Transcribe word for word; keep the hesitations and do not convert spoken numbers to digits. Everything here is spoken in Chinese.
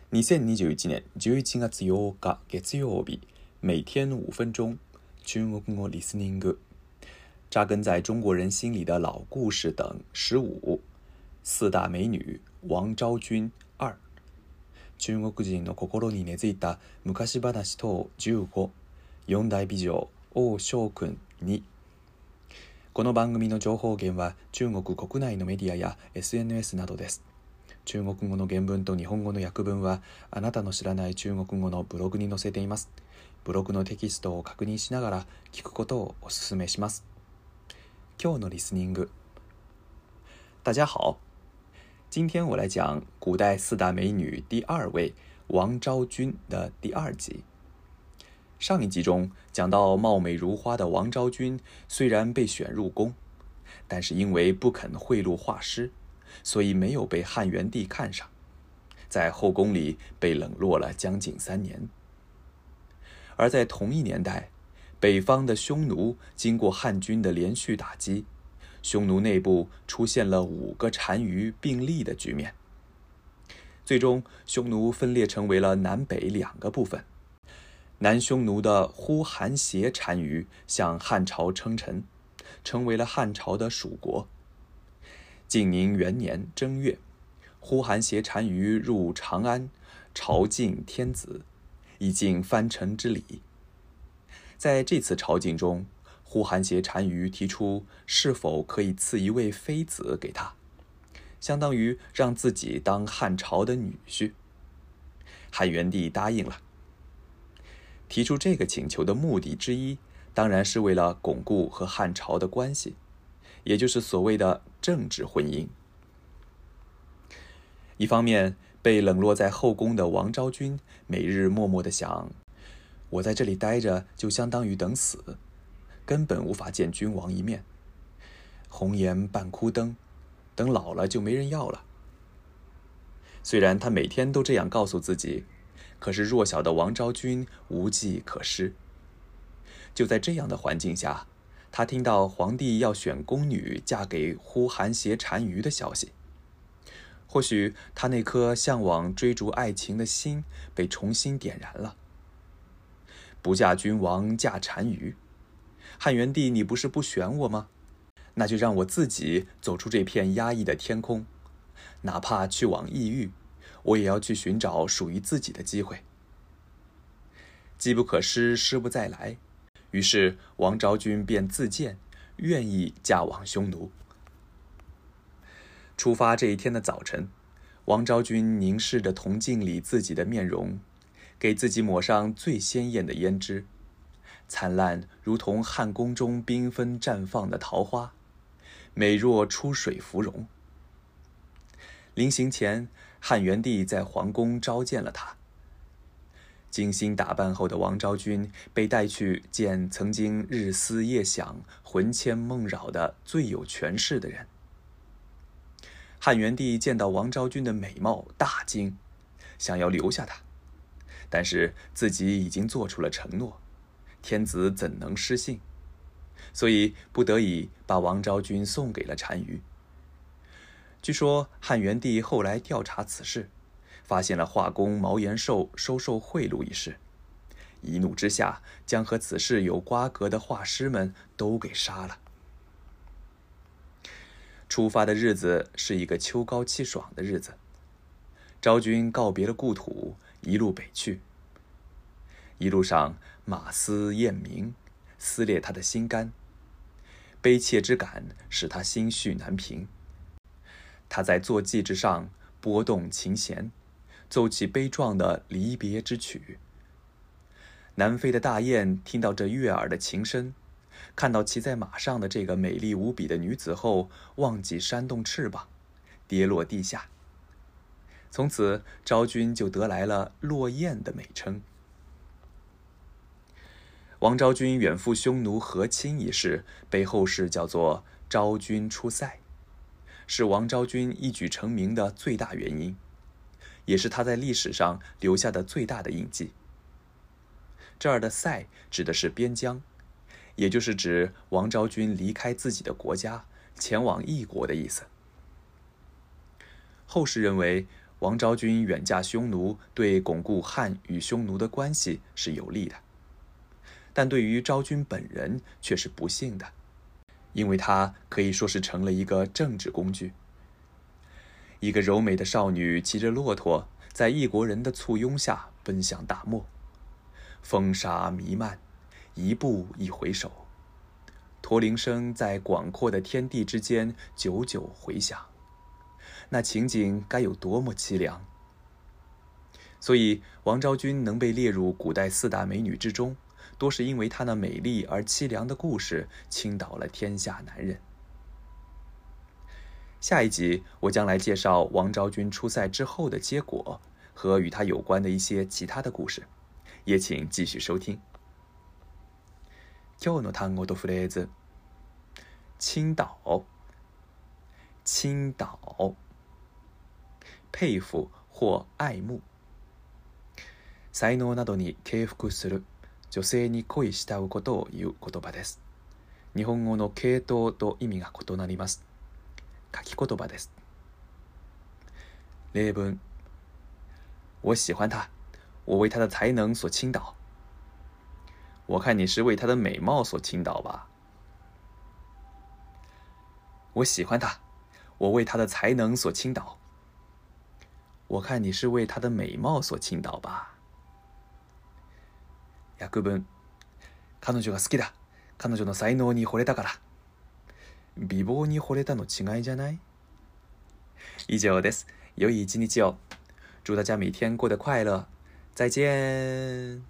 にせんにじゅういちねんじゅういちがつようか月曜日，每天五分钟，中国語 listening， 扎根在中国人心里的老故事等十五，四大美女王昭君二，中国人の心に根付いた昔話等じゅうご、四大美女王昭君に。この番組の情報源は中国国内のメディアや エスエヌエス などです。中国語の原文と日本語の訳文はあなたの知らない中国語のブログに載せています。ブログのテキストを確認しながら聞くことをお勧めします。今日のリスニング。大家好，今天我来讲古代四大美女第二位王昭君的第二集。上一集中讲到貌美如花的王昭君虽然被选入宫，但是因为不肯贿赂画师，所以没有被汉元帝看上，在后宫里被冷落了将近三年。而在同一年代，北方的匈奴经过汉军的连续打击，匈奴内部出现了五个单于并立的局面。最终匈奴分裂成为了南北两个部分。南匈奴的呼韩邪单于向汉朝称臣，成为了汉朝的属国。晋宁元年正月，呼韩邪单于入长安，朝觐天子，以尽藩臣之礼。在这次朝觐中，呼韩邪单于提出是否可以赐一位妃子给他，相当于让自己当汉朝的女婿。汉元帝答应了。提出这个请求的目的之一，当然是为了巩固和汉朝的关系，也就是所谓的政治婚姻。一方面，被冷落在后宫的王昭君每日默默地想，我在这里待着就相当于等死，根本无法见君王一面。红颜半枯灯，等老了就没人要了。虽然她每天都这样告诉自己，可是弱小的王昭君无计可施。就在这样的环境下，她听到皇帝要选宫女嫁给呼韩邪单于的消息。或许她那颗向往追逐爱情的心被重新点燃了。不嫁君王嫁单于，汉元帝你不是不选我吗？那就让我自己走出这片压抑的天空，哪怕去往异域，我也要去寻找属于自己的机会。机不可失，失不再来，于是王昭君便自荐，愿意嫁往匈奴。出发这一天的早晨，王昭君凝视着铜镜里自己的面容，给自己抹上最鲜艳的胭脂，灿烂如同汉宫中缤纷绽放的桃花，美若出水芙蓉。临行前，汉元帝在皇宫召见了她。精心打扮后的王昭君被带去见曾经日思夜想、魂牵梦绕的最有权势的人。汉元帝见到王昭君的美貌大惊，想要留下她，但是自己已经做出了承诺，天子怎能失信？所以不得已把王昭君送给了单于。据说汉元帝后来调查此事，发现了画工毛延寿收受贿赂一事，一怒之下将和此事有瓜葛的画师们都给杀了。出发的日子是一个秋高气爽的日子，昭君告别了故土，一路北去。一路上马嘶雁鸣，撕裂他的心肝，悲切之感使他心绪难平。他在坐骑之上拨动琴弦，奏起悲壮的离别之曲。南飞的大雁听到这悦耳的琴声，看到骑在马上的这个美丽无比的女子后，忘记扇动翅膀，跌落地下。从此昭君就得来了落雁的美称。王昭君远赴匈奴和亲一事被后世叫做昭君出塞，是王昭君一举成名的最大原因，也是她在历史上留下的最大的印记。这儿的塞指的是边疆，也就是指王昭君离开自己的国家，前往异国的意思。后世认为王昭君远嫁匈奴对巩固汉与匈奴的关系是有利的，但对于昭君本人却是不幸的，因为她可以说是成了一个政治工具。一个柔美的少女骑着骆驼，在异国人的簇拥下奔向大漠，风沙弥漫，一步一回首，驼铃声在广阔的天地之间久久回响，那情景该有多么凄凉！所以王昭君能被列入古代四大美女之中，多是因为她那美丽而凄凉的故事倾倒了天下男人。下一集我将来介绍王昭君出塞之后的结果和与她有关的一些其他的故事，也请继续收听。今日の単語とフレーズ。倾倒，倾倒，佩服或愛慕。才能などに敬服する、女性に恋慕うことを言う言葉です。日本語の系統と意味が異なります。書き言葉です。例文：我喜欢她，我为她的才能所倾倒。我看你是为她的美貌所倾倒吧。我喜欢她，我为她的才能所倾倒。我看你是为她的美貌所倾倒吧。訳文：彼女が好きだ。彼女の才能に惚れたから。美貌に惚れたの違いじゃない？以上です。良い一日を。祝大家每天过得快乐。再见。